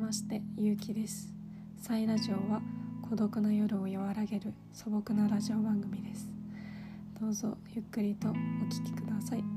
まして、ゆうきです。サイラジオは孤独な夜を和らげる素朴なラジオ番組です。どうぞゆっくりとお聞きください。